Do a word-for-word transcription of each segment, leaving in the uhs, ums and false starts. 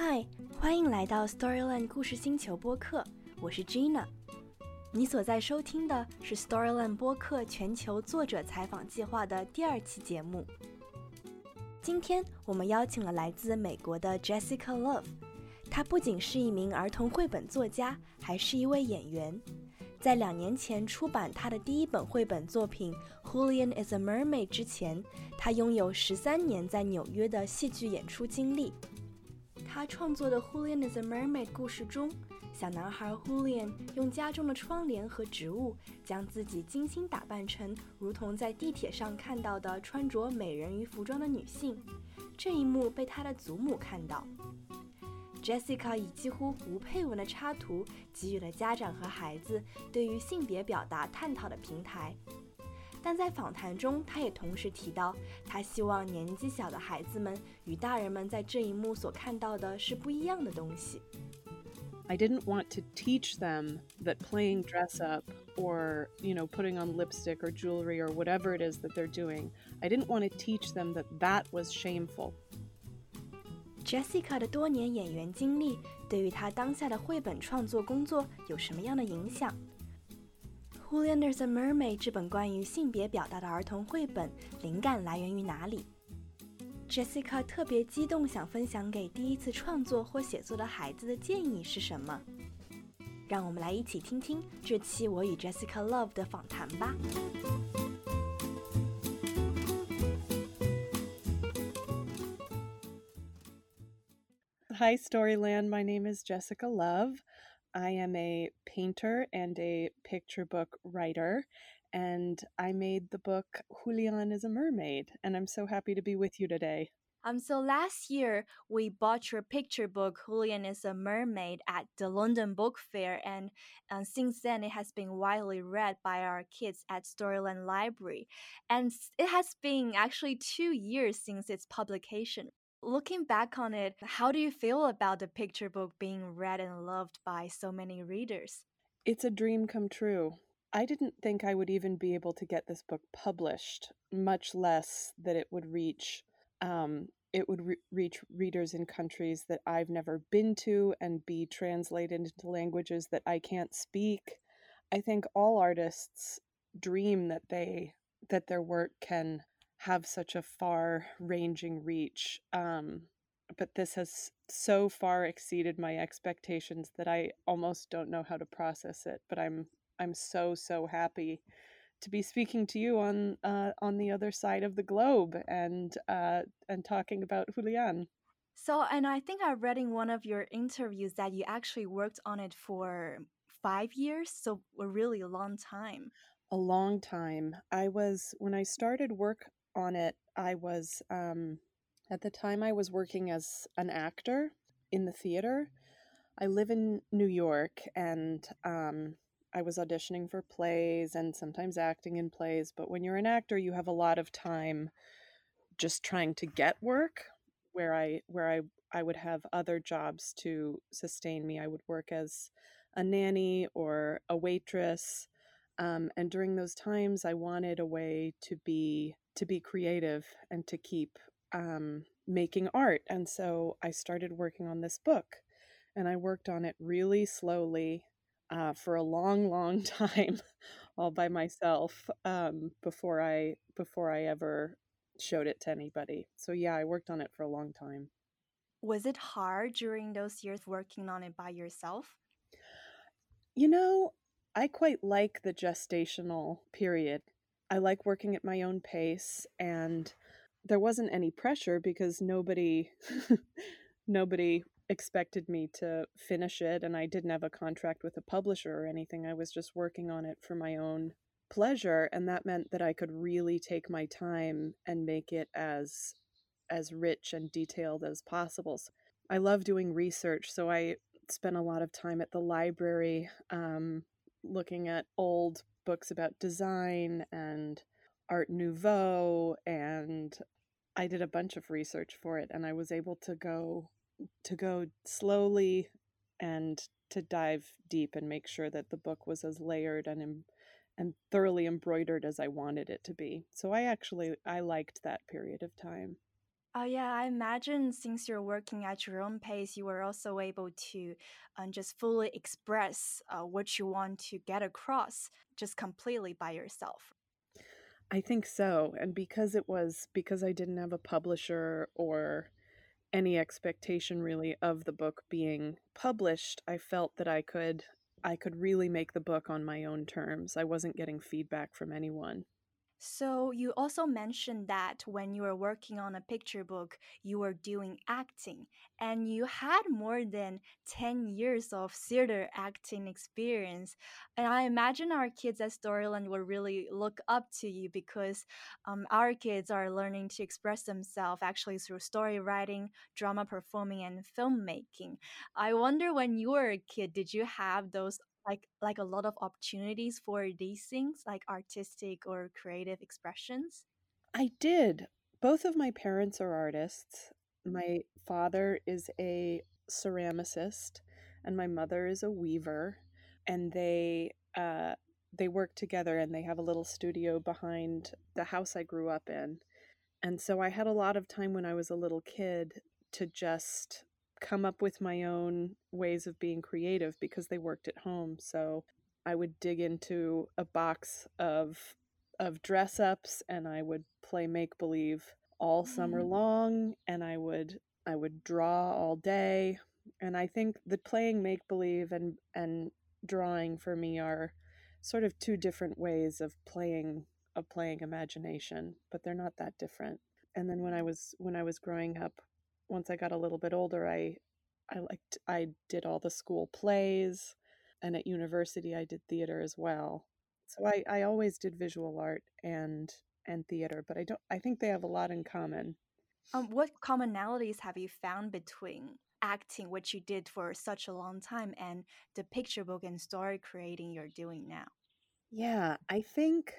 嗨，欢迎来到 Storyland 故事星球播客，我是 Gina。你所在收听的是 Storyland 播客全球作者采访计划的第二期节目。今天我们邀请了来自美国的 Jessica Love， 她不仅是一名儿童绘本作家，还是一位演员。在两年前出版她的第一本绘本作品 Julian is a Mermaid 之前，她拥有十三年在纽约的戏剧演出经历。他创作的 Julian is a Mermaid 故事中，小男孩 Julian 用家中的窗帘和植物将自己精心打扮成如同在地铁上看到的穿着美人鱼服装的女性，这一幕被他的祖母看到。Jessica 以几乎无配文的插图给予了家长和孩子对于性别表达探讨的平台，但在访谈中，他也同时提到，他希望年纪小的孩子们与大人们在这一幕所看到的是不一样的东西。 I didn't want to teach them that playing dress up or, you know, putting on lipstick or jewelry or whatever it is that they're doing, I didn't want to teach them that that was shameful. Jessica 的多年演员经历对于她当下的绘本创作工作有什么样的影响？Julian is a Mermaid 这本关于性别表达的儿童绘本灵感来源于哪里？ Jessica 特别激动想分享给第一次创作或写作的孩子的建议是什么？让我们来一起听听这期我与 Jessica Love 的访谈吧。 Hi, Storyland. My name is Jessica Love.I am a painter and a picture book writer, and I made the book Julian is a Mermaid, and I'm so happy to be with you today. Um, so last year, we bought your picture book, Julian is a Mermaid, at the London Book Fair, and uh, since then it has been widely read by our kids at Storyland Library. And it has been actually two years since its publication.Looking back on it, how do you feel about the picture book being read and loved by so many readers? It's a dream come true. I didn't think I would even be able to get this book published, much less that it would reach um, it would re- reach readers in countries that I've never been to and be translated into languages that I can't speak. I think all artists dream that they that their work can have such a far-ranging reach. Um, but this has so far exceeded my expectations that I almost don't know how to process it. But I'm I'm so so happy to be speaking to you on uh, on the other side of the globe and uh, and talking about Julian. So, and I think I read in one of your interviews that you actually worked on it for five years, so a really long time. A long time. I was when I started work on it, I was um, at the time I was working as an actor in the theater. I live in New York, and um, I was auditioning for plays and sometimes acting in plays. But when you're an actor, you have a lot of time just trying to get work. Where I where I I would have other jobs to sustain me. I would work as a nanny or a waitress. Um, and during those times, I wanted a way to be to be creative and to keep um, making art. And so I started working on this book, and I worked on it really slowly uh, for a long, long time, all by myself um, before I before I ever showed it to anybody. So yeah, I worked on it for a long time. Was it hard during those years working on it by yourself? You know, I quite like the gestational period. I like working at my own pace, and there wasn't any pressure because nobody nobody expected me to finish it, and I didn't have a contract with a publisher or anything. I was just working on it for my own pleasure, and that meant that I could really take my time and make it as as rich and detailed as possible. So I love doing research, so I spent a lot of time at the library um, looking at old books about design and Art Nouveau, and I did a bunch of research for it, and I was able to go to go slowly and to dive deep and make sure that the book was as layered and and thoroughly embroidered as I wanted it to be. So I actually I liked that period of time. Oh, yeah, I imagine since you're working at your own pace, you were also able to um, just fully express uh, what you want to get across just completely by yourself. I think so. And because it was because I didn't have a publisher or any expectation really of the book being published, I felt that I could I could really make the book on my own terms. I wasn't getting feedback from anyone. So you also mentioned that when you were working on a picture book, you were doing acting, and you had more than ten years of theater acting experience. And I imagine our kids at Storyland will really look up to you because um, our kids are learning to express themselves actually through story writing, drama performing, and filmmaking. I wonder when you were a kid, did you have those like like a lot of opportunities for these things like artistic or creative expressions? I did. Both of my parents are artists. My father is a ceramicist and my mother is a weaver, and they uh they work together and they have a little studio behind the house I grew up in. And so I had a lot of time when I was a little kid to just come up with my own ways of being creative because they worked at home. So I would dig into a box of of dress ups and I would play make believe all summer long, and I would I would draw all day. And I think the playing make believe and and drawing for me are sort of two different ways of playing of playing imagination, but they're not that different. And then when I was when I was growing up, once I got a little bit older, I I liked I did all the school plays, and at university I did theater as well. So I I always did visual art and and theater, but I don't I think they have a lot in common. Um, what commonalities have you found between acting, which you did for such a long time, and the picture book and story creating you're doing now? Yeah, I think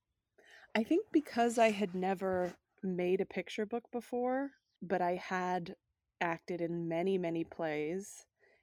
I think because I had never made a picture book before, but I had acted in many, many plays,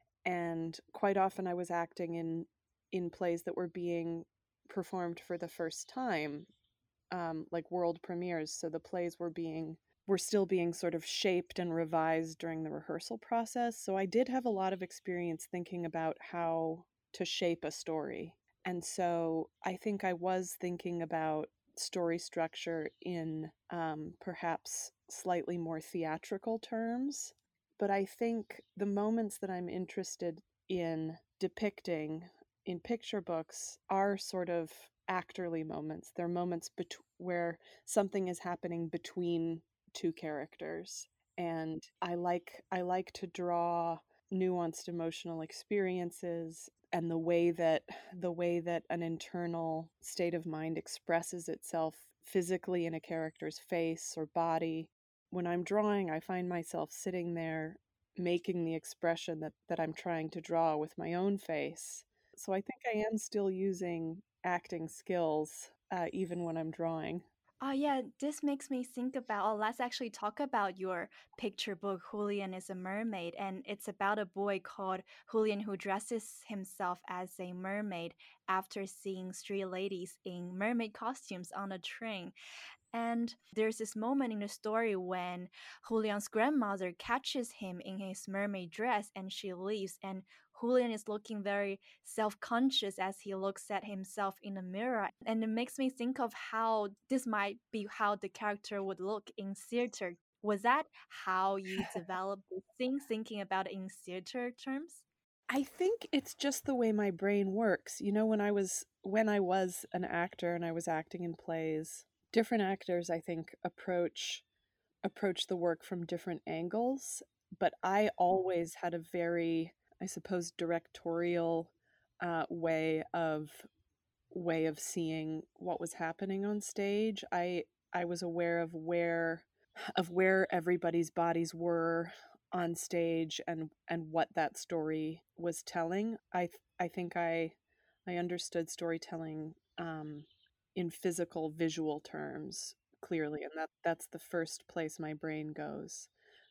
and quite often I was acting in in plays that were being performed for the first time, um, like world premieres. So the plays were being were still being sort of shaped and revised during the rehearsal process. So I did have a lot of experience thinking about how to shape a story. And so I think I was thinking about story structure in um, perhaps slightly more theatrical terms. But I think the moments that I'm interested in depicting in picture books are sort of actorly moments. They're moments bet- where something is happening between two characters, and I like I like to draw nuanced emotional experiences and the way that the way that an internal state of mind expresses itself physically in a character's face or body. When I'm drawing, I find myself sitting there making the expression that, that I'm trying to draw with my own face. So I think I am still using acting skills uh, even when I'm drawing. Oh, yeah, this makes me think about. Oh, let's actually talk about your picture book, Julian is a Mermaid. And it's about a boy called Julian who dresses himself as a mermaid after seeing three ladies in mermaid costumes on a train. And there's this moment in the story when Julian's grandmother catches him in his mermaid dress and she leaves. And Julian is looking very self conscious as he looks at himself in the mirror. And it makes me think of how this might be how the character would look in theater. Was that how you developed the thing, thinking about it in theater terms? I think it's just the way my brain works. You know, when I was when I was an actor and I was acting in plays, different actors I think approach approach the work from different angles, but I always had a very, I suppose, directorial uh, way of way of seeing what was happening on stage. I I was aware of where of where everybody's bodies were on stage and and what that story was telling. I I think I I understood storytelling um, in physical visual terms clearly, and that that's the first place my brain goes.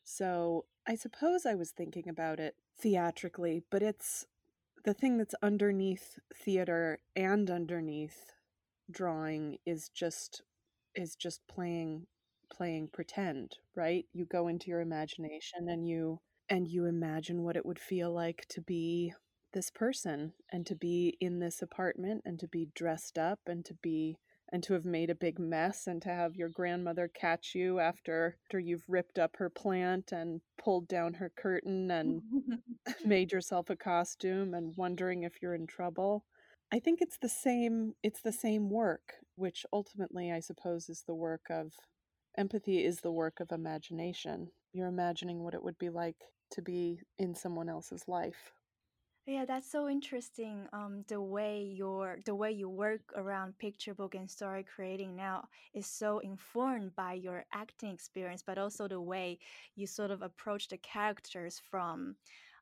So I suppose I was thinking about it theatrically, but it's the thing that's underneath theater and underneath drawing is just is just playing playing pretend, right? You go into your imagination and you and you imagine what it would feel like to be this person and to be in this apartment and to be dressed up and to be and to have made a big mess and to have your grandmother catch you after after you've ripped up her plant and pulled down her curtain and made yourself a costume and wondering if you're in trouble. I think it's the same it's the same work, which ultimately I suppose is the work of empathy is the work of imagination. You're imagining what it would be like to be in someone else's life. Yeah, that's so interesting. Um, the way your the way you work around picture book and story creating now is so informed by your acting experience, but also the way you sort of approach the characters from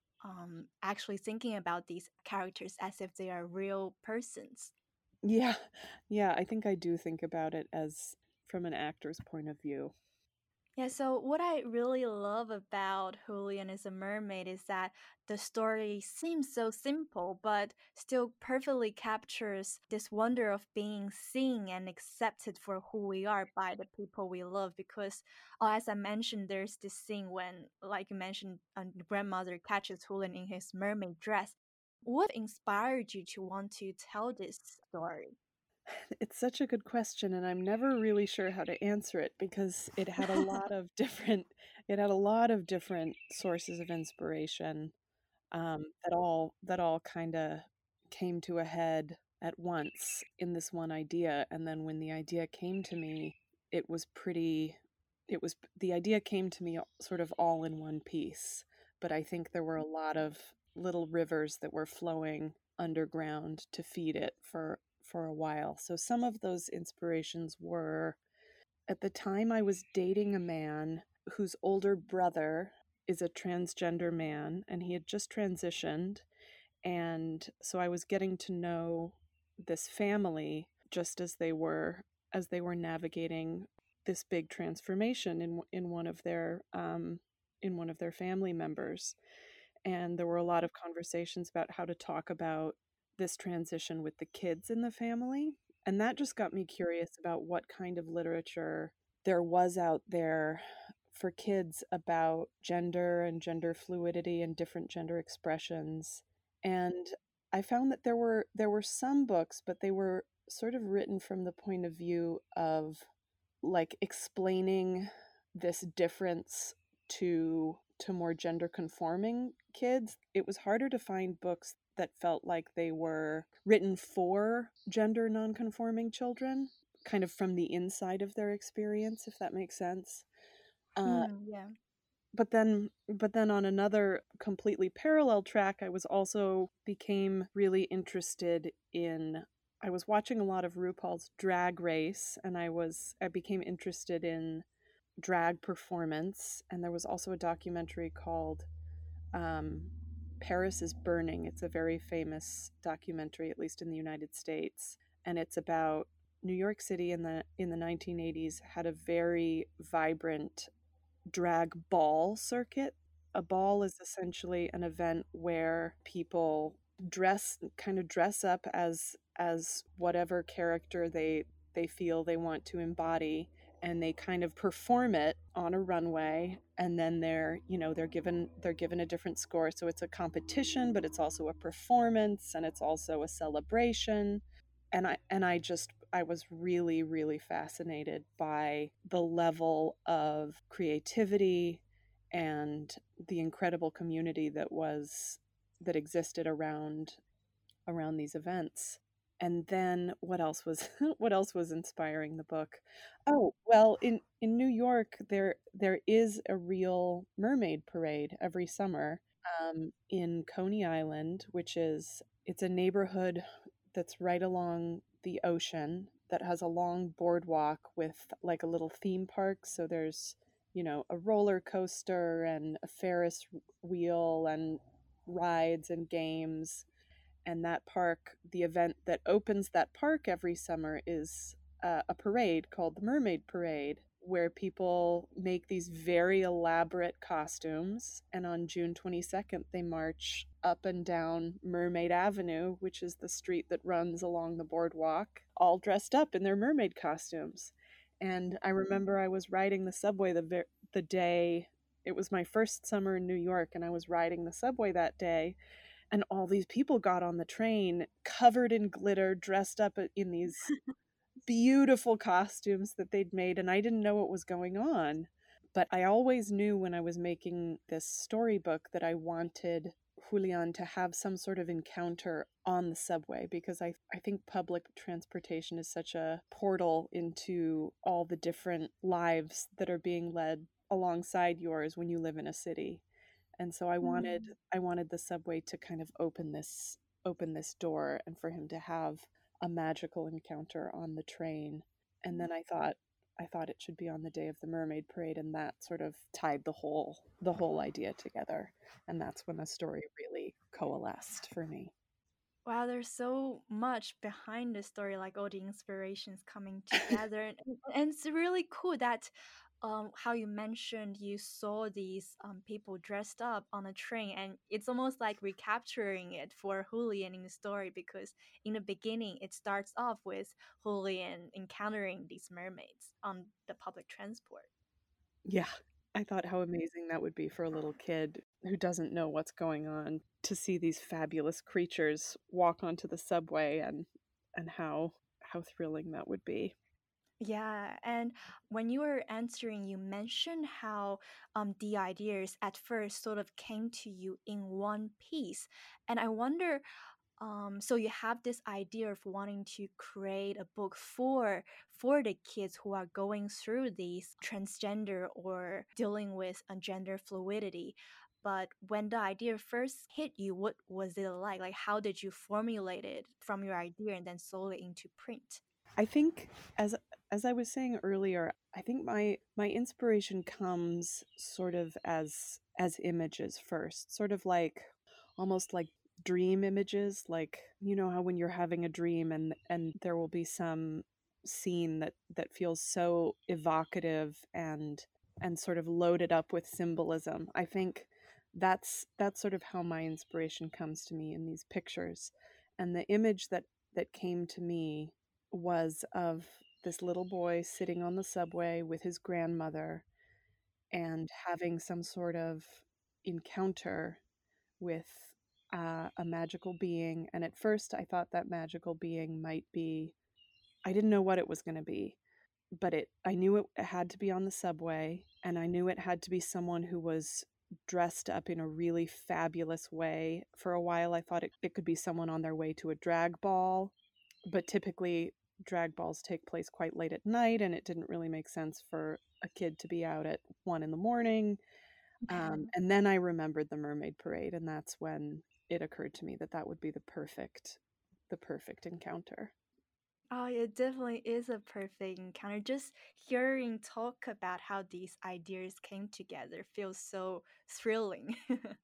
um, actually thinking about these characters as if they are real persons. Yeah. Yeah, I think I do think about it as from an actor's point of view. Yeah, so what I really love about Julian is a Mermaid is that the story seems so simple, but still perfectly captures this wonder of being seen and accepted for who we are by the people we love. Because, oh, as I mentioned, there's this scene when, like you mentioned, a grandmother catches Julian in his mermaid dress. What inspired you to want to tell this story? It's such a good question, and I'm never really sure how to answer it because it had a lot of different it had a lot of different sources of inspiration um, that all that all kind of came to a head at once in this one idea. And then when the idea came to me, it was pretty. It was the idea came to me sort of all in one piece. But I think there were a lot of little rivers that were flowing underground to feed it for for a while. So some of those inspirations were at the time I was dating a man whose older brother is a transgender man and he had just transitioned. And so I was getting to know this family just as they were as they were navigating this big transformation in in one of their um, in one of their family members. And there were a lot of conversations about how to talk about this transition with the kids in the family. And that just got me curious about what kind of literature there was out there for kids about gender and gender fluidity and different gender expressions. And I found that there were there were some books, but they were sort of written from the point of view of like explaining this difference to to more gender conforming kids. It was harder to find books that felt like they were written for gender nonconforming children, kind of from the inside of their experience, if that makes sense. Uh, Mm, yeah. but then but then on another completely parallel track, I was also became really interested in I was watching a lot of RuPaul's Drag Race, and I was I became interested in drag performance. And there was also a documentary called um, Paris is Burning. It's a very famous documentary, at least in the United States, and it's about New York City in the in the nineteen eighties had a very vibrant drag ball circuit. A ball is essentially an event where people dress kind of dress up as as whatever character they they feel they want to embody, and they kind of perform it on a runway, and then they're you know they're given they're given a different score. So it's a competition, but it's also a performance, and it's also a celebration. And i and i just I was really really fascinated by the level of creativity and the incredible community that was that existed around around these events. And then what else was what else was inspiring the book? Oh, well, in in New York there there is a real mermaid parade every summer um, in Coney Island, which is it's a neighborhood that's right along the ocean that has a long boardwalk with like a little theme park. So there's, you know, a roller coaster and a Ferris wheel and rides and games. And that park, the event that opens that park every summer is uh, a parade called the Mermaid Parade, where people make these very elaborate costumes. And on June twenty-second, they march up and down Mermaid Avenue, which is the street that runs along the boardwalk, all dressed up in their mermaid costumes. And I remember I was riding the subway the ver- the day it was my first summer in New York, and I was riding the subway that day, and all these people got on the train covered in glitter, dressed up in these beautiful costumes that they'd made, and I didn't know what was going on. But I always knew when I was making this storybook that I wanted Julian to have some sort of encounter on the subway, because I, I think public transportation is such a portal into all the different lives that are being led alongside yours when you live in a city. And so I wanted Mm. I wanted the subway to kind of open this open this door, and for him to have a magical encounter on the train. And then I thought I thought it should be on the day of the Mermaid Parade, and that sort of tied the whole the whole idea together. And that's when the story really coalesced for me. Wow, there's so much behind the story, like all the inspirations coming together, and, and it's really cool that um how you mentioned you saw these um people dressed up on a train, and it's almost like recapturing it for Julian in the story, because in the beginning it starts off with Julian encountering these mermaids on the public transport. Yeah. I thought how amazing that would be for a little kid who doesn't know what's going on, to see these fabulous creatures walk onto the subway, and and how how thrilling that would be. Yeah, and when you were answering, you mentioned how um, the ideas at first sort of came to you in one piece. And I wonder, um, so you have this idea of wanting to create a book for for the kids who are going through these transgender or dealing with a gender fluidity. But when the idea first hit you, what was it like? Like, how did you formulate it from your idea and then slowly into print? I think, as as I was saying earlier, I think my my inspiration comes sort of as as images first, sort of like almost like dream images, like you know how when you're having a dream, and and there will be some scene that that feels so evocative and and sort of loaded up with symbolism. I think that's that's sort of how my inspiration comes to me in these pictures. And the image that that came to me was of this little boy sitting on the subway with his grandmother and having some sort of encounter with uh, a magical being. And at first, I thought that magical being might be, I didn't know what it was going to be, but it, I knew it had to be on the subway, and I knew it had to be someone who was dressed up in a really fabulous way. For a while, I thought it, it could be someone on their way to a drag ball, but typically drag balls take place quite late at night, and it didn't really make sense for a kid to be out at one in the morning. Um, and then I remembered the Mermaid Parade, and that's when it occurred to me that that would be the perfect, the perfect encounter. Oh, it definitely is a perfect encounter. Just hearing talk about how these ideas came together feels so thrilling.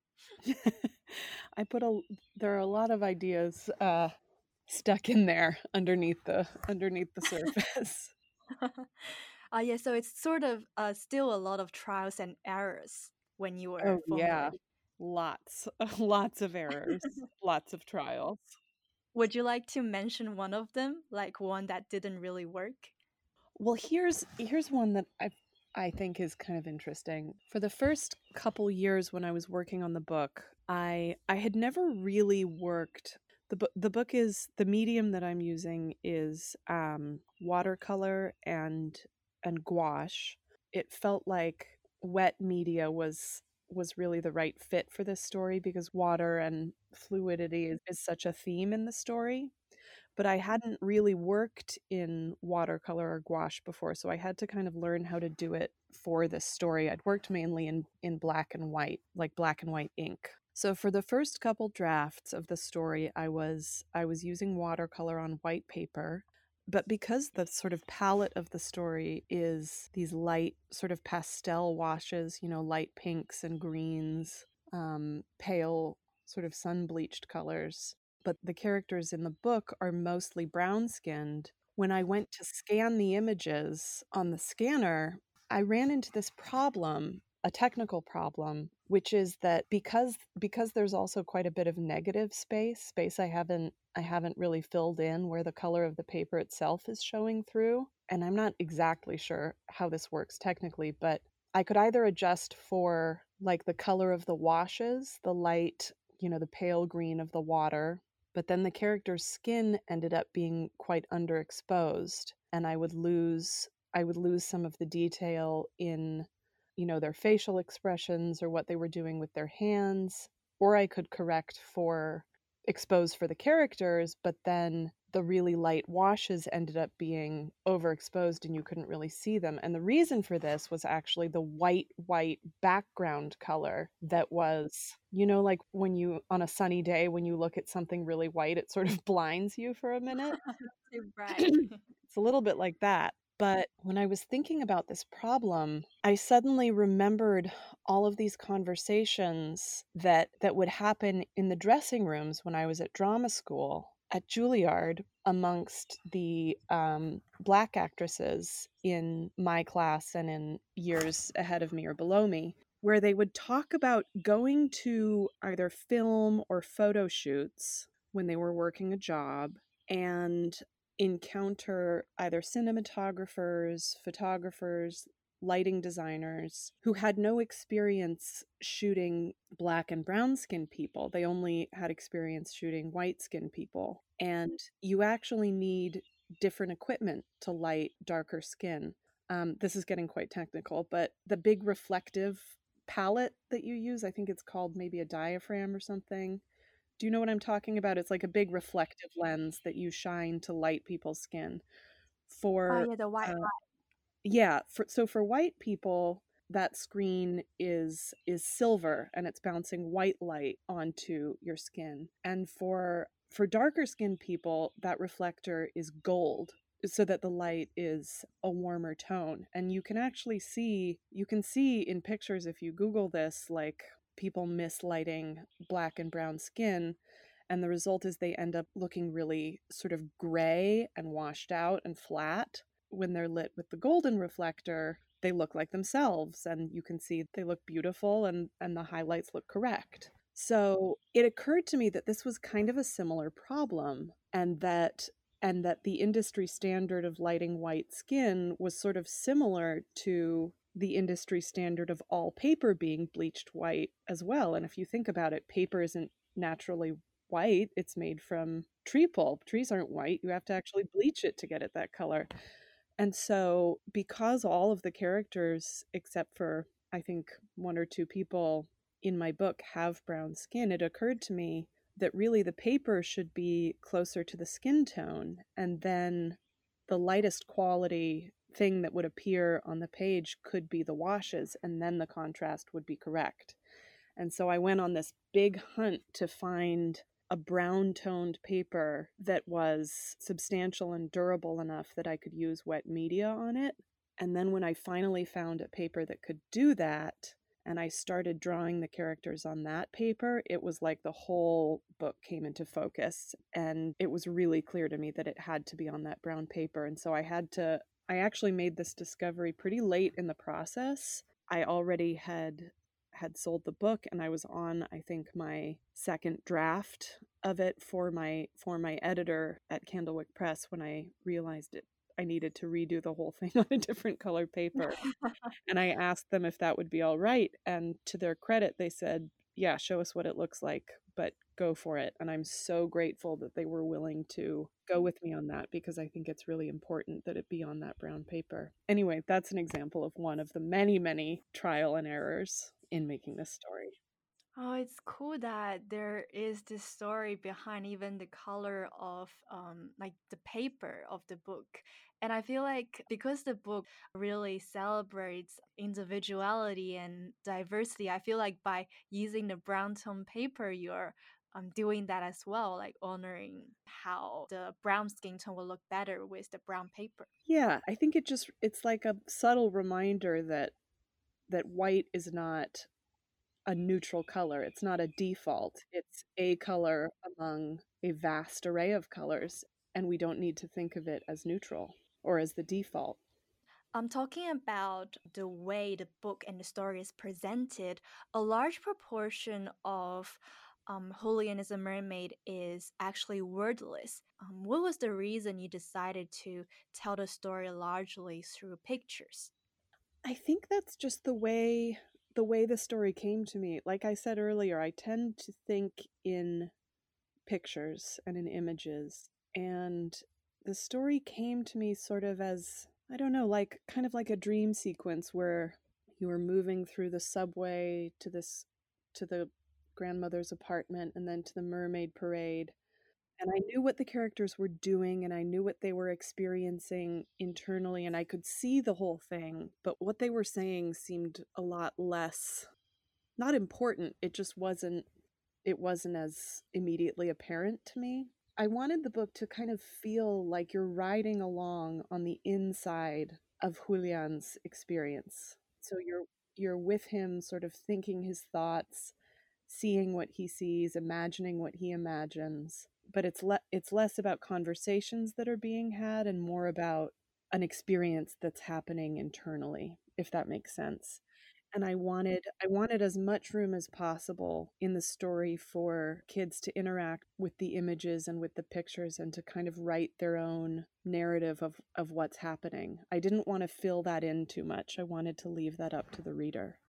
I put a there are a lot of ideas uh, stuck in there underneath the underneath the surface. Uh, yeah, so it's sort of uh, still a lot of trials and errors when you were Oh yeah, formulating. lots, lots of errors, lots of trials. Would you like to mention one of them, like one that didn't really work? Well, here's here's one that I I think is kind of interesting. For the first couple years when I was working on the book, I I had never really worked. The book the book is the medium that I'm using is um, watercolor and and gouache. It felt like wet media was was really the right fit for this story, because water and fluidity is, is such a theme in the story, but I hadn't really worked in watercolor or gouache before, so I had to kind of learn how to do it for this story. I'd worked mainly in in black and white, like black and white ink. So for the first couple drafts of the story, I was I was using watercolor on white paper, but because the sort of palette of the story is these light sort of pastel washes, you know, light pinks and greens, um, pale sort of sun bleached colors, but the characters in the book are mostly brown skinned. When I went to scan the images on the scanner, I ran into this problem, a technical problem, which is that because because there's also quite a bit of negative space, space I haven't I haven't really filled in where the color of the paper itself is showing through. and I'm not exactly sure how this works technically, but I could either adjust for like the color of the washes, the light, you know, the pale green of the water, but then the character's skin ended up being quite underexposed, and I would lose I would lose some of the detail in, you know, their facial expressions or what they were doing with their hands, or I could correct for expose for the characters, but then the really light washes ended up being overexposed and you couldn't really see them. And the reason for this was actually the white, white background color that was, you know, like when you, on a sunny day, when you look at something really white, it sort of blinds you for a minute. Right. It's a little bit like that. But when I was thinking about this problem, I suddenly remembered all of these conversations that that would happen in the dressing rooms when I was at drama school at Juilliard amongst the um, Black actresses in my class and in years ahead of me or below me, where they would talk about going to either film or photo shoots when they were working a job and encounter either cinematographers, photographers, lighting designers who had no experience shooting black and brown skinned people. They only had experience shooting white skinned people. And you actually need different equipment to light darker skin. Um, this is getting quite technical, but the big reflective palette that you use, I think it's called maybe a diaphragm or something. Do you know what I'm talking about? It's like a big reflective lens that you shine to light people's skin. Oh For yeah, the white uh, light. yeah, for, so for white people, that screen is is silver and it's bouncing white light onto your skin. And for for darker skinned people, that reflector is gold so that the light is a warmer tone. And you can actually see you can see in pictures if you Google this, like people mislighting black and brown skin, and the result is they end up looking really sort of gray and washed out and flat. When they're lit with the golden reflector, they look like themselves, and you can see they look beautiful, and and the highlights look correct. So it occurred to me that this was kind of a similar problem, and that and that the industry standard of lighting white skin was sort of similar to the industry standard of all paper being bleached white as well. And if you think about it, paper isn't naturally white. It's made from tree pulp. Trees aren't white. You have to actually bleach it to get it that color. And so, because all of the characters, except for I think one or two people in my book, have brown skin, it occurred to me that really the paper should be closer to the skin tone. And then the lightest quality thing that would appear on the page could be the washes, and then the contrast would be correct. And so I went on this big hunt to find a brown toned paper that was substantial and durable enough that I could use wet media on it. And then when I finally found a paper that could do that, and I started drawing the characters on that paper, it was like the whole book came into focus. And it was really clear to me that it had to be on that brown paper. And so I had to, I actually made this discovery pretty late in the process. I already had had sold the book and I was on I think my second draft of it for my for my editor at Candlewick Press when I realized it I needed to redo the whole thing on a different color paper. And I asked them if that would be all right, and to their credit they said, "Yeah, show us what it looks like, but go for it." And I'm so grateful that they were willing to go with me on that, because I think it's really important that it be on that brown paper. Anyway, that's an example of one of the many, many trial and errors in making this story. Oh, it's cool that there is this story behind even the color of um like the paper of the book. And I feel like because the book really celebrates individuality and diversity, I feel like by using the brown tone paper, you're um, doing that as well, like honoring how the brown skin tone will look better with the brown paper. Yeah, I think it just it's like a subtle reminder that that white is not a neutral color. It's not a default. It's a color among a vast array of colors, and we don't need to think of it as neutral or as the default. I'm talking about the way the book and the story is presented. A large proportion of um, Julian is a Mermaid is actually wordless. Um, what was the reason you decided to tell the story largely through pictures? I think that's just the way the way the story came to me. Like I said earlier, I tend to think in pictures and in images. And the story came to me sort of as, I don't know, like kind of like a dream sequence where you were moving through the subway to this to the grandmother's apartment and then to the mermaid parade. And I knew what the characters were doing and I knew what they were experiencing internally and I could see the whole thing, but what they were saying seemed a lot less, not important. It just wasn't it wasn't as immediately apparent to me. I wanted the book to kind of feel like you're riding along on the inside of Julian's experience. So you're you're with him sort of thinking his thoughts, seeing what he sees, imagining what he imagines. But it's le- it's less about conversations that are being had and more about an experience that's happening internally, if that makes sense. And I wanted I wanted as much room as possible in the story for kids to interact with the images and with the pictures and to kind of write their own narrative of, of what's happening. I didn't want to fill that in too much. I wanted to leave that up to the reader.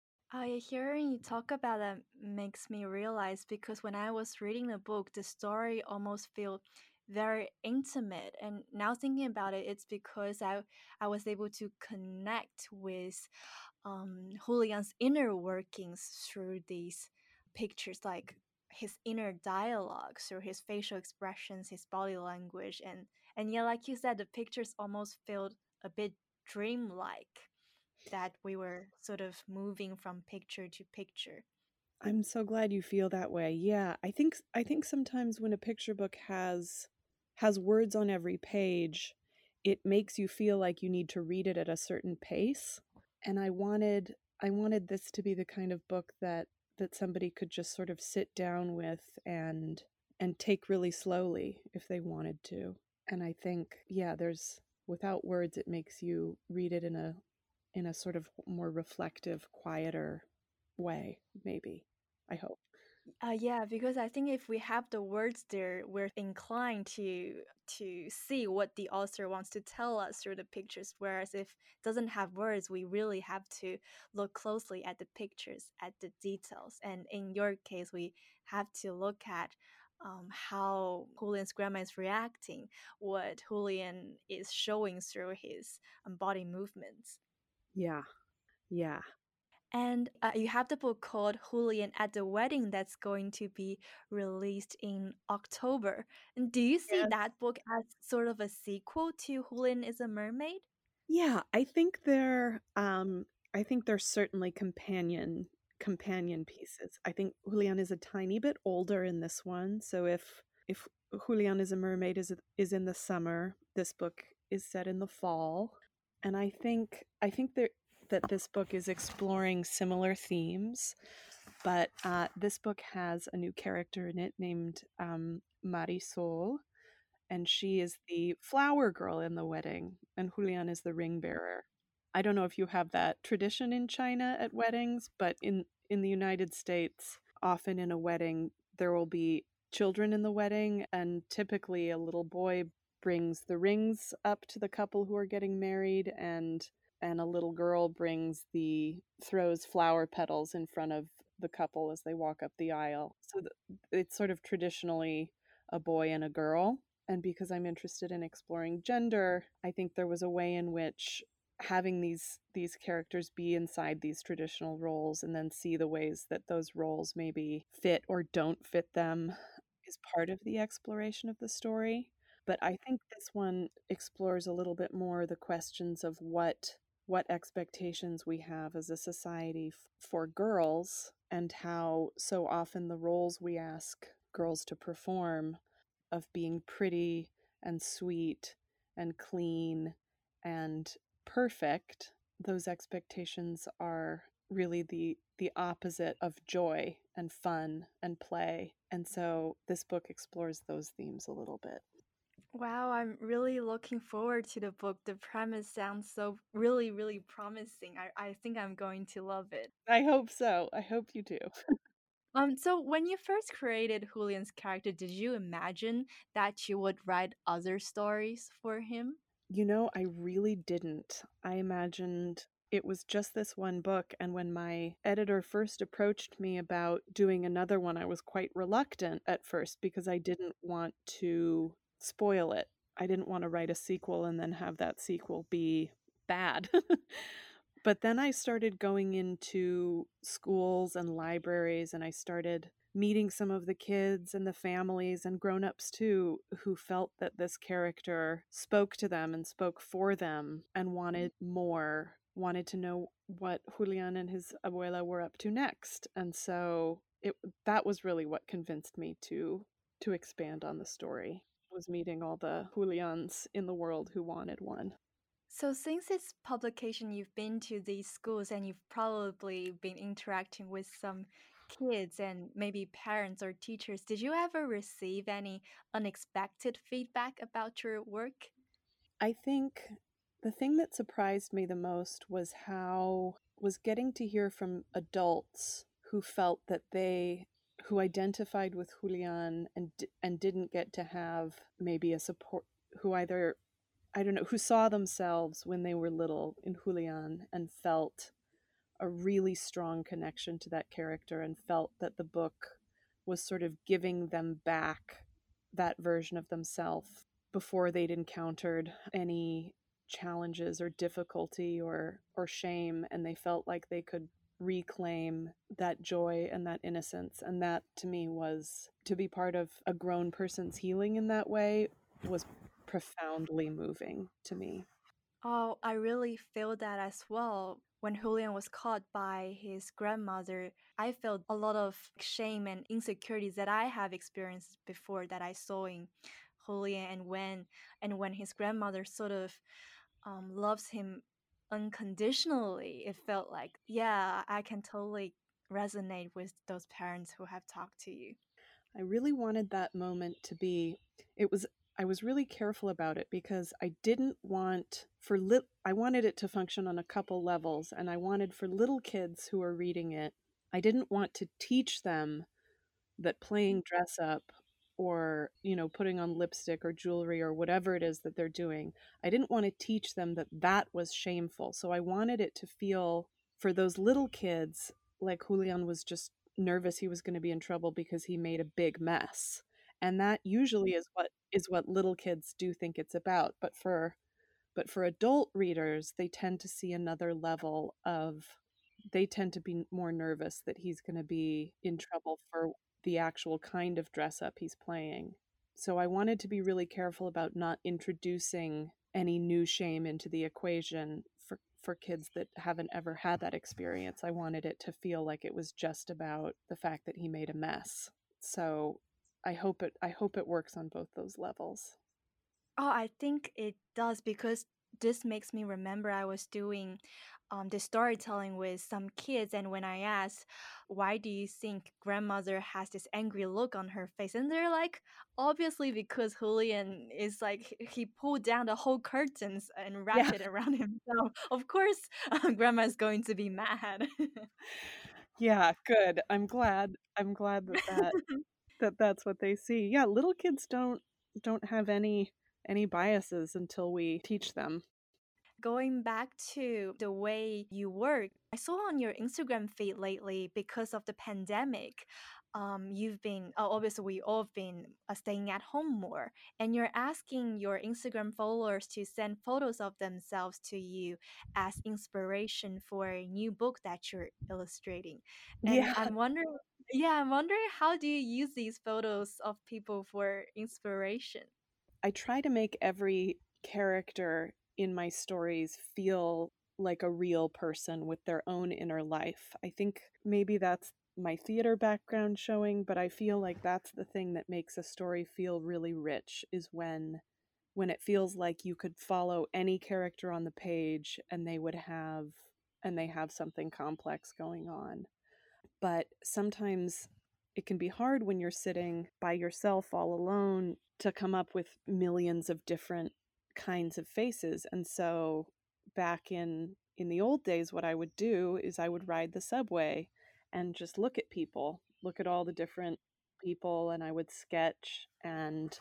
I hearing you talk about that makes me realize because when I was reading the book, the story almost feel very intimate. And now thinking about it, it's because I I was able to connect with um, Julian's inner workings through these pictures, like his inner dialogue through his facial expressions, his body language, and and yeah, like you said, the pictures almost felt a bit dreamlike that we were sort of moving from picture to picture. I'm so glad you feel that way. Yeah, I think I think sometimes when a picture book has has words on every page, it makes you feel like you need to read it at a certain pace. And I wanted I wanted this to be the kind of book that that somebody could just sort of sit down with and and take really slowly if they wanted to. And I think yeah, there's without words it makes you read it in a in a sort of more reflective, quieter way, maybe. I hope. Uh, yeah, because I think if we have the words there, we're inclined to to see what the author wants to tell us through the pictures. Whereas if it doesn't have words, we really have to look closely at the pictures, at the details. And in your case, we have to look at um, how Julian's grandma is reacting, what Julian is showing through his um, body movements. Yeah. Yeah. And uh, you have the book called Julian at the Wedding that's going to be released in October. And do you see Yes. that book as sort of a sequel to Julian is a Mermaid? Yeah, I think they're um I think they're certainly companion companion pieces. I think Julian is a tiny bit older in this one, so if if Julian is a mermaid is is in the summer, this book is set in the fall. And I think I think that that this book is exploring similar themes, but uh, this book has a new character in it named um, Marisol, and she is the flower girl in the wedding, and Julian is the ring bearer. I don't know if you have that tradition in China at weddings, but in in the United States, often in a wedding there will be children in the wedding, and typically a little boy brings the rings up to the couple who are getting married, and and a little girl brings the throws flower petals in front of the couple as they walk up the aisle. So th- it's sort of traditionally a boy and a girl. And because I'm interested in exploring gender, I think there was a way in which having these these characters be inside these traditional roles and then see the ways that those roles maybe fit or don't fit them is part of the exploration of the story. But I think this one explores a little bit more the questions of what what expectations we have as a society f- for girls, and how so often the roles we ask girls to perform of being pretty and sweet and clean and perfect, those expectations are really the the opposite of joy and fun and play. And so this book explores those themes a little bit. Wow, I'm really looking forward to the book. The premise sounds so really, really promising. I, I think I'm going to love it. I hope so. I hope you do. Um, so when you first created Julian's character, did you imagine that you would write other stories for him? You know, I really didn't. I imagined it was just this one book, and when my editor first approached me about doing another one, I was quite reluctant at first because I didn't want to spoil it. I didn't want to write a sequel and then have that sequel be bad. But then I started going into schools and libraries, and I started meeting some of the kids and the families and grown-ups too who felt that this character spoke to them and spoke for them and wanted more, wanted to know what Julian and his abuela were up to next. And so it that was really what convinced me to to expand on the story, was meeting all the Julians in the world who wanted one. So since its publication, you've been to these schools and you've probably been interacting with some kids and maybe parents or teachers. Did you ever receive any unexpected feedback about your work? I think the thing that surprised me the most was how was getting to hear from adults who felt that they who identified with Julian and and didn't get to have maybe a support, who either, I don't know, who saw themselves when they were little in Julian and felt a really strong connection to that character and felt that the book was sort of giving them back that version of themselves before they'd encountered any challenges or difficulty or or shame, and they felt like they could reclaim that joy and that innocence. And that to me was, to be part of a grown person's healing in that way, was profoundly moving to me. Oh, I really feel that as well. When Julian was caught by his grandmother, I felt a lot of shame and insecurities that I have experienced before that I saw in Julian, and when and when his grandmother sort of um, loves him unconditionally, it felt like, yeah, I can totally resonate with those parents who have talked to you. I really wanted that moment to be, it was, I was really careful about it because I didn't want for lit I wanted it to function on a couple levels, and I wanted for little kids who are reading it, I didn't want to teach them that playing dress up or, you know, putting on lipstick or jewelry or whatever it is that they're doing, I didn't want to teach them that that was shameful. So I wanted it to feel, for those little kids, like Julian was just nervous he was going to be in trouble because he made a big mess. And that usually is what is what little kids do think it's about. But for but for adult readers, they tend to see another level of, they tend to be more nervous that he's going to be in trouble for the actual kind of dress up he's playing. So I wanted to be really careful about not introducing any new shame into the equation for for kids that haven't ever had that experience. I wanted it to feel like it was just about the fact that he made a mess. So I hope it I hope it works on both those levels. Oh, I think it does, because this makes me remember I was doing um, the storytelling with some kids, and when I asked, why do you think grandmother has this angry look on her face? And they're like, obviously because Julian is like, he pulled down the whole curtains and wrapped Yeah. it around himself. Of course, grandma is going to be mad. Yeah, good. I'm glad. I'm glad that that that that's what they see. Yeah, little kids don't don't have any any biases until we teach them. Going back to the way you work, I saw on your Instagram feed lately, because of the pandemic, um, you've been, oh, obviously, we all have been uh, staying at home more, and you're asking your Instagram followers to send photos of themselves to you as inspiration for a new book that you're illustrating. And Yeah, I'm wondering, yeah, I'm wondering, how do you use these photos of people for inspiration? I try to make every character in my stories feel like a real person with their own inner life. I think maybe that's my theater background showing, but I feel like that's the thing that makes a story feel really rich, is when when it feels like you could follow any character on the page and they would have and they have something complex going on. But sometimes it can be hard when you're sitting by yourself all alone to come up with millions of different kinds of faces. And so back in in the old days, what I would do is I would ride the subway and just look at people look at all the different people, and I would sketch and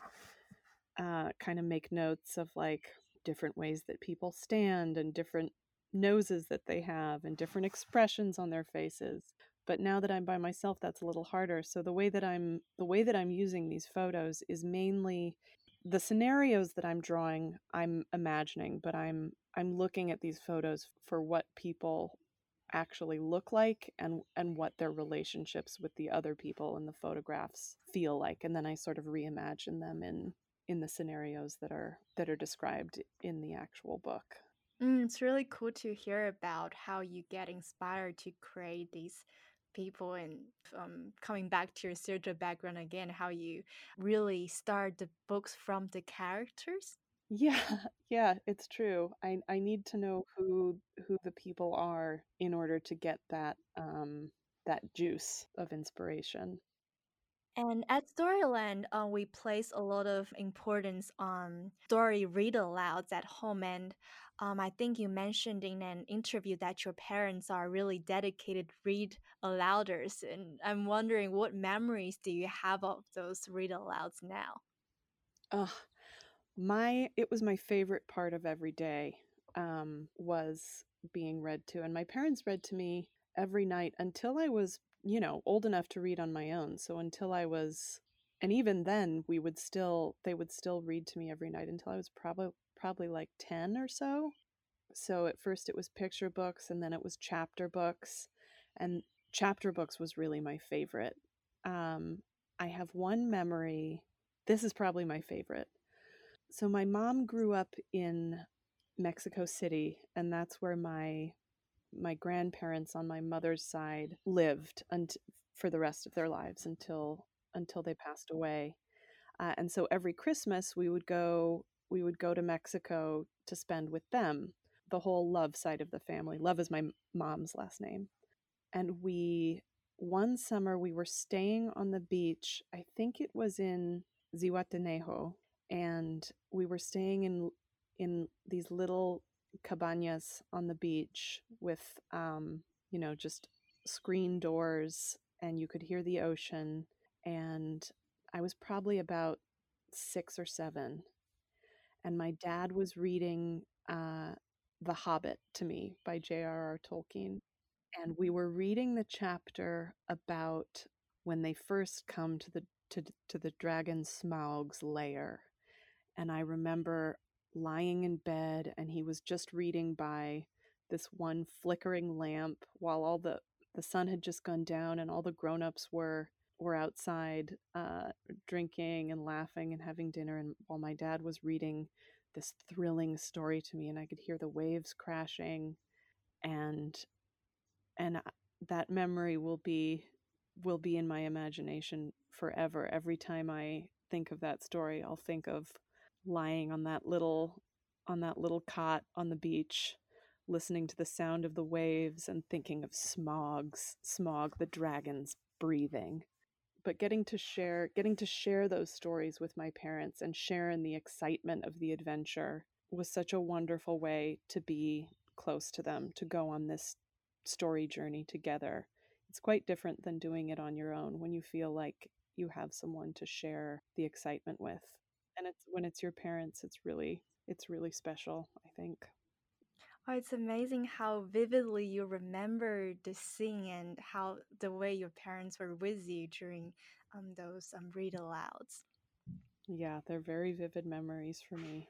uh, kind of make notes of like different ways that people stand and different noses that they have and different expressions on their faces. But now that I'm by myself, that's a little harder. So the way that I'm the way that I'm using these photos is mainly the scenarios that I'm drawing, I'm imagining, but I'm I'm looking at these photos for what people actually look like and and what their relationships with the other people in the photographs feel like, and then I sort of reimagine them in in the scenarios that are that are described in the actual book. Mm, it's really cool to hear about how you get inspired to create these people and um, coming back to your theater background again, how you really start the books from the characters. Yeah, yeah, it's true. I I need to know who who the people are in order to get that um that juice of inspiration. And at Storyland, uh, we place a lot of importance on story read alouds at home. And um, I think you mentioned in an interview that your parents are really dedicated read alouders. And I'm wondering, what memories do you have of those read alouds now? Ugh, my it was my favorite part of every day, um, was being read to, and my parents read to me every night until I was, you know, old enough to read on my own. So until I was, and even then, we would still they would still read to me every night until I was probably probably like ten or so. So at first it was picture books, and then it was chapter books, and chapter books was really my favorite. Um, I have one memory. This is probably my favorite. So my mom grew up in Mexico City, and that's where my my grandparents on my mother's side lived unt- for the rest of their lives until until they passed away. Uh, and so every Christmas we would go we would go to Mexico to spend with them. The whole Love side of the family. Love is my mom's last name. And we one summer we were staying on the beach. I think it was in Zihuatanejo, and we were staying in in these little cabañas on the beach with um, you know, just screen doors, and you could hear the ocean. And I was probably about six or seven, and my dad was reading uh, The Hobbit to me by J R R. Tolkien, and we were reading the chapter about when they first come to the to, to the dragon Smaug's lair. And I remember lying in bed, and he was just reading by this one flickering lamp while all the the sun had just gone down, and all the grown-ups were were outside uh, drinking and laughing and having dinner, and while my dad was reading this thrilling story to me, and I could hear the waves crashing, and and that memory will be will be in my imagination forever. Every time I think of that story, I'll think of lying on that little on that little cot on the beach, listening to the sound of the waves and thinking of Smaug's Smaug the dragon's breathing. But getting to share getting to share those stories with my parents and share in the excitement of the adventure was such a wonderful way to be close to them, to go on this story journey together. It's quite different than doing it on your own when you feel like you have someone to share the excitement with. And it's when it's your parents, it's really it's really special, I think. Oh, it's amazing how vividly you remember the scene and how the way your parents were with you during um, those um, read alouds. Yeah, they're very vivid memories for me.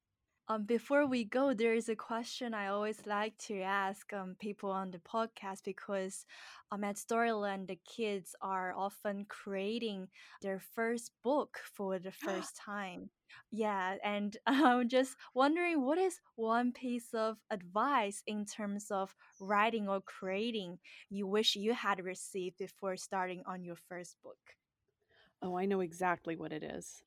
Um, before we go, there is a question I always like to ask um, people on the podcast because um, at Storyland, the kids are often creating their first book for the first time. Yeah, and I'm just wondering, what is one piece of advice in terms of writing or creating you wish you had received before starting on your first book? Oh, I know exactly what it is.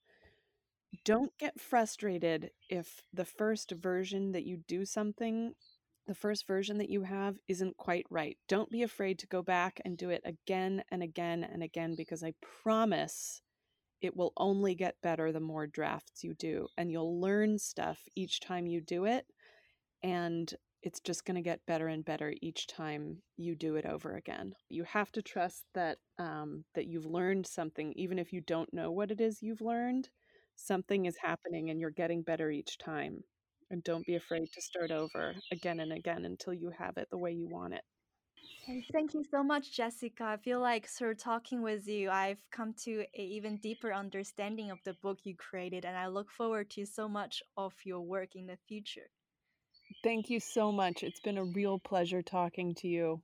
Don't get frustrated if the first version that you do something, the first version that you have isn't quite right. Don't be afraid to go back and do it again and again and again, because I promise it will only get better the more drafts you do, and you'll learn stuff each time you do it. And it's just going to get better and better each time you do it over again. You have to trust that um, that you've learned something, even if you don't know what it is you've learned. Something is happening and you're getting better each time. And don't be afraid to start over again and again until you have it the way you want it. And thank you so much, Jessica. I feel like through talking with you, I've come to an even deeper understanding of the book you created, and I look forward to so much of your work in the future. Thank you so much. It's been a real pleasure talking to you.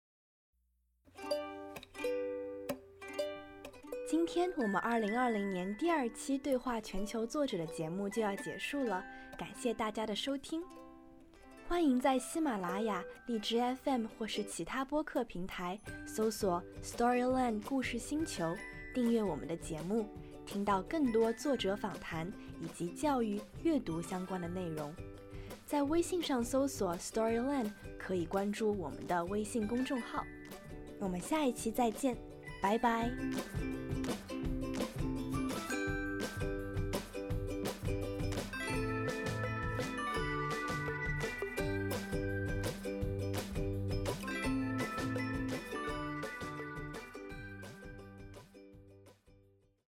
今天我们二零二零年第二期对话全球作者的节目就要结束了，感谢大家的收听。欢迎在喜马拉雅、荔枝 F M 或是其他播客平台搜索 Storyland 故事星球，订阅我们的节目，听到更多作者访谈以及教育、阅读相关的内容。在微信上搜索 Storyland 可以关注我们的微信公众号。我们下一期再见，拜拜。